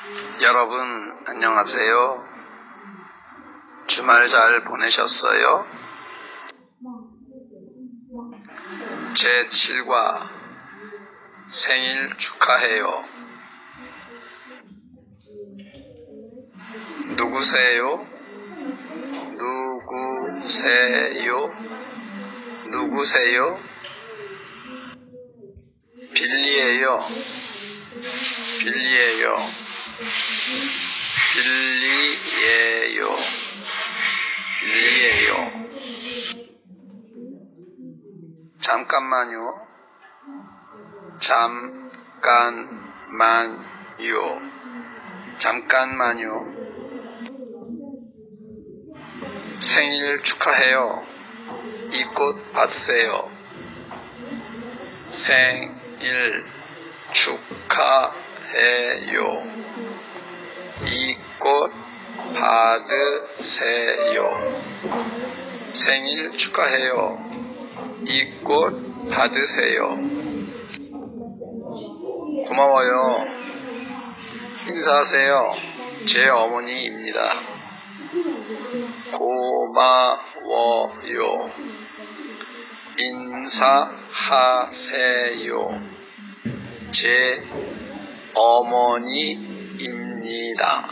여러분 안녕하세요. 주말 잘 보내셨어요? 제 7과 생일 축하해요. 누구세요? 누구세요? 누구세요? 빌리예요. 빌리예요. 빌리예요. 빌리예요. 잠깐만요. 잠깐만요. 잠깐만요. 생일 축하해요. 이 꽃 받으세요. 생일 축하해요. 이 꽃 받으세요. 생일 축하해요. 이 꽃 받으세요. 고마워요. 인사하세요. 제 어머니입니다. 고마워요. 인사하세요. 제 어머니입니다.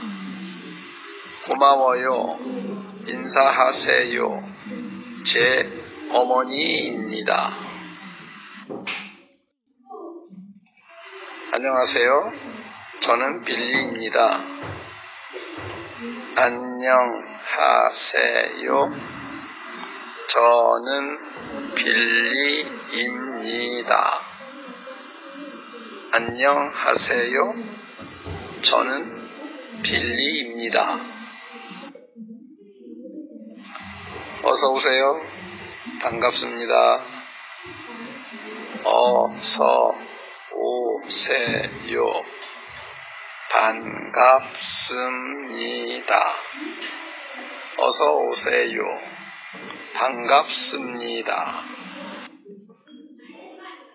고마워요. 인사하세요. 제 어머니입니다. 안녕하세요. 저는 빌리입니다. 안녕하세요. 저는 빌리입니다. 안녕하세요. 저는 빌리입니다. 어서 오세요. 반갑습니다. 어서 오세요. 반갑습니다. 어서 오세요. 반갑습니다.